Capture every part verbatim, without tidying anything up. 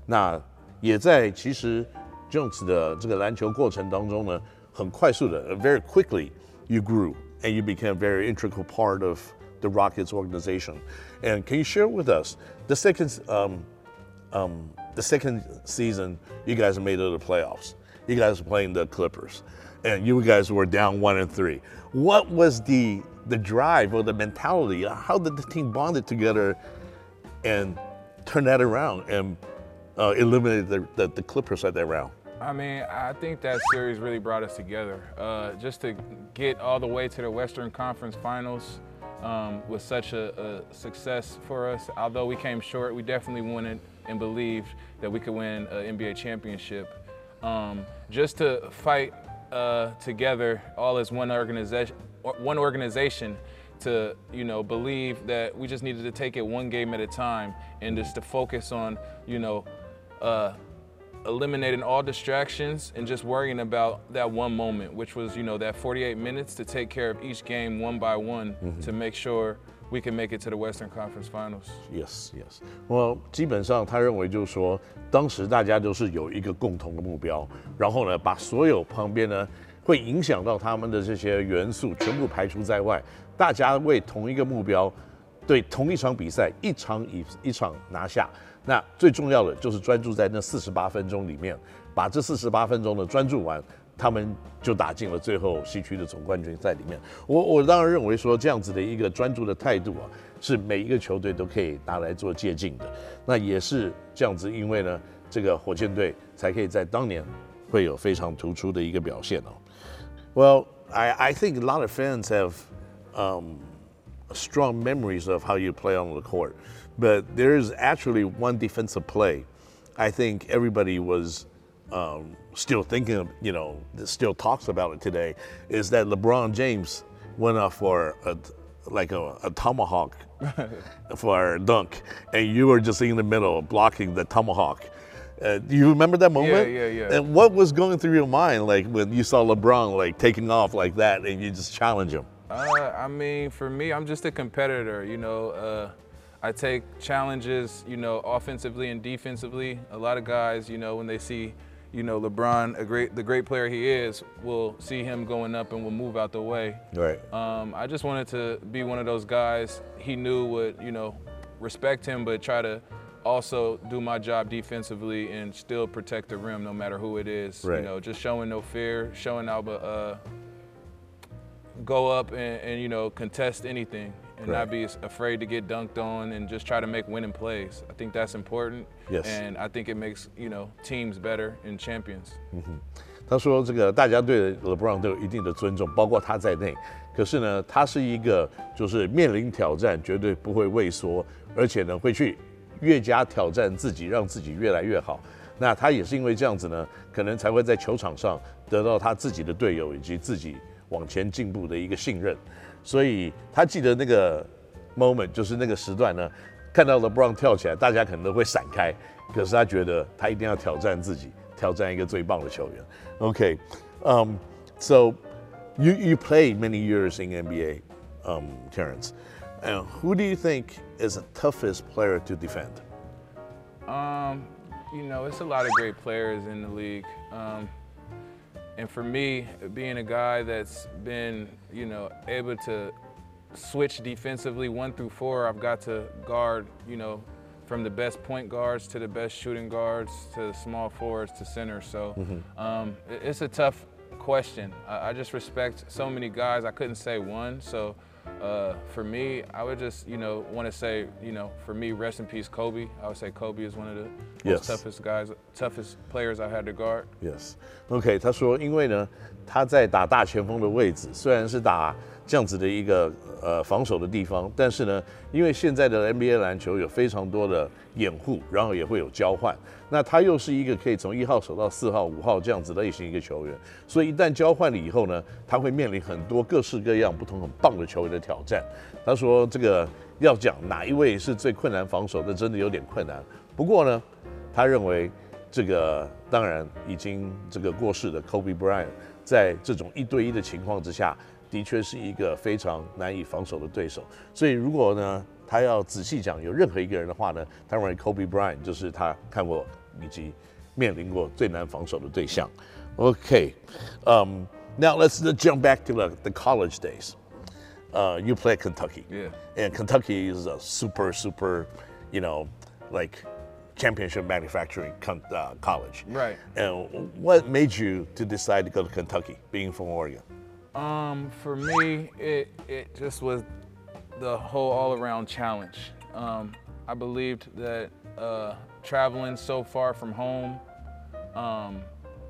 那也在其實 Jones 的這個籃球過程當中呢，很快速的 ，very quickly you grew and you became a very integral part of the Rockets organization. And can you share with us the second um, um, the second season you guys made it to the playoffs? You guys were playing the Clippers, and you guys were down one and three. What was the the drive or the mentality? How did the team bonded together and turn that around and uh, eliminate the, the, the Clippers at that round? I mean, I think that series really brought us together. Uh, just to get all the way to the Western Conference Finals um, was such a, a success for us. Although we came short, we definitely wanted and believed that we could win an N B A championship. Um, just to fight uh, together, all as one organization, one organization, to you know believe that we just needed to take it one game at a time, and just to focus on you know. Uh, eliminating all distractions and just worrying about that one moment, which was, you know, that forty-eight minutes to take care of each game one by one mm-hmm. to make sure we can make it to the Western Conference Finals. Yes, yes. Well, 基本上他認為就是說，當時大家都是有一個共同的目標，然後呢，把所有旁邊呢會影響到他們的這些元素全部排除在外，大家為同一個目標，對同一場比賽一場一一場拿下。那最重要的就是專注在那四十八分鐘裡面，把這四十八分鐘的專注完，他們就打進了最後西區的總冠軍賽裡面。我我當然認為說這樣子的一個專注的態度啊，是每一個球隊都可以拿來做借鑑的。那也是這樣子，因為呢，這個火箭隊才可以在當年會有非常突出的一個表現哦。Well, I I think a lot of fans have um, strong memories of how you play on the court. But there is actually one defensive play I think everybody was um, still thinking of, you know, still talks about it today, is that LeBron James went up for a, like a, a tomahawk for a dunk, and you were just in the middle blocking the tomahawk. Uh, do you remember that moment? Yeah, yeah, yeah. And what was going through your mind, like when you saw LeBron like taking off like that, and you just challenge him? Uh, I mean, for me, I'm just a competitor. You know, uh, I take challenges, you know, offensively and defensively. A lot of guys, you know, when they see, you know, LeBron, a great, the great player he is, will see him going up and will move out the way. Right. Um, I just wanted to be one of those guys he knew would, you know, respect him, but try to also do my job defensively and still protect the rim no matter who it is. Right. You know, just showing no fear, showing Alba uh, go up and, and, you know, contest anything and right. not be afraid to get dunked on and just try to make winning plays. I think that's important. Yes. And I think it makes, you know, teams better and champions. 嗯哼，他说这个大家对 LeBron 都有一定的尊重，包括他在内。可是呢，他是一个就是面臨挑戰絕對不會畏縮，而且呢會去越加挑戰自己，讓自己越來越好。那他也是因為這樣子呢，可能才會在球場上得到他自己的隊友以及自己往前進步的一個信任。所以他記得那個 moment， 就是那個時段呢，看到 LeBron 跳起來，大家可能都會閃開。可是他覺得他一定要挑戰自己，挑戰一個最棒的球員。Okay, um, so you you played many years in N B A, um, Terrence. And who do you think is the toughest player to defend? Um, you know, it's a lot of great players in the league. Um, and for me, being a guy that's been, you know, able to switch defensively one through four, I've got to guard, you know, from the best point guards to the best shooting guards to the small forwards to center. So mm-hmm. um, it's a tough question. I, I just respect so many guys. I couldn't say one. So uh, for me, I would just, you know, want to say, you know, for me, rest in peace, Kobe. I would say Kobe is one of the yes. most toughest guys, toughest players I had to guard. Yes. OK， 他說，因為呢，他在打大前鋒的位置，雖然是打這樣子的一個呃防守的地方，但是呢，因為現在的 N B A 籃球有非常多的掩護，然後也會有交換，那他又是一個可以從一號守到四號、五號這樣子類型一個球員，所以一旦交換了以後呢，他會面臨很多各式各樣不同很棒的球員的挑戰。他說這個要講哪一位是最困難防守的，真的有點困難。不過呢，他認為這個當然已經這個過世的 Kobe Bryant 在這種一對一的情況之下，的確是一個非常難以防守的對手，所以如果呢，他要仔細講有任何一個人的話呢，他認為 Kobe Bryant 就是他看過以及面臨過最難防守的對象。Okay, um, now let's jump back to the, the college days. Uh, you play at Kentucky. Yeah. And Kentucky is a super, super, you know, like championship manufacturing con- uh, college. Right. And what made you to decide to go to Kentucky, being from Oregon? Um, for me, it, it just was the whole all-around challenge. Um, I believed that uh, traveling so far from home, um,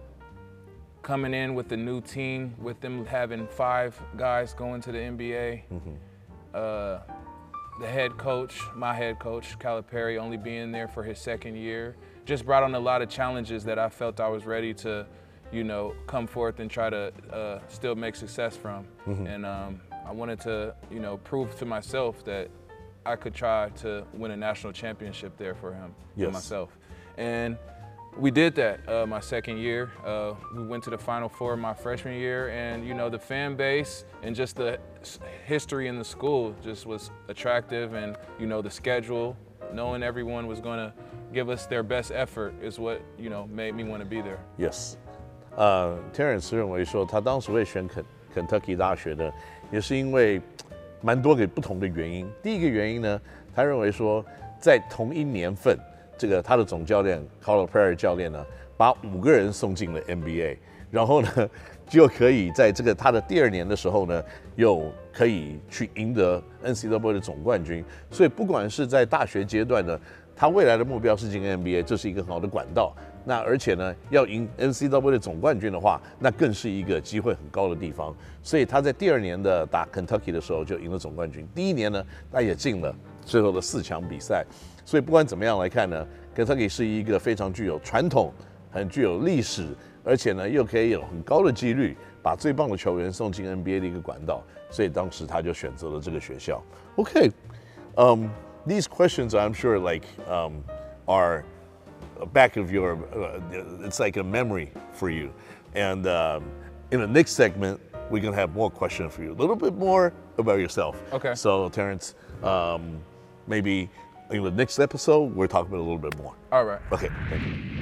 coming in with a new team, with them having five guys going to the N B A, mm-hmm. uh, the head coach, my head coach, Calipari, only being there for his second year, just brought on a lot of challenges that I felt I was ready to, you know, come forth and try to uh, still make success from. Mm-hmm. And um, I wanted to, you know, prove to myself that I could try to win a national championship there for him, yes. for myself. And we did that uh, my second year. Uh, we went to the Final Four my freshman year, and you know the fan base and just the history in the school just was attractive, and you know the schedule, knowing everyone was going to give us their best effort is what you know made me want to be there. Yes. 呃、uh, ，Terrence 認為說他當時會選肯肯特基大學呢，也是因為蠻多個不同的原因。第一個原因呢，他認為說在同一年份。這個他的總教練 Calipari 教練呢，把五個人送進了 N B A， 然後呢，就可以在這個他的第二年的時候呢，又可以去贏得 N C double A 的總冠軍。所以不管是在大學階段呢，他未來的目標是進 N B A， 這是一個很好的管道。那而且呢，要贏 N C double A 的總冠軍的話，那更是一個機會很高的地方。所以他在第二年的打 Kentucky 的時候就贏了總冠軍。第一年呢，他也進了最後的四強比賽。所以不管怎麼樣來看呢 ，Kentucky 是一個非常具有傳統、很具有歷史，而且呢又可以有很高的幾率把最棒的球員送進 N B A 的一個管道。所以當時他就選擇了這個學校。Okay, um, these questions I'm sure like um, are back of your, uh, it's like a memory for you. And um, in the next segment, we're gonna have more questions for you, a little bit more about yourself. Okay. So Terrence, um, maybe in the next episode, we'll talk about it a little bit more. All right. Okay, thank you.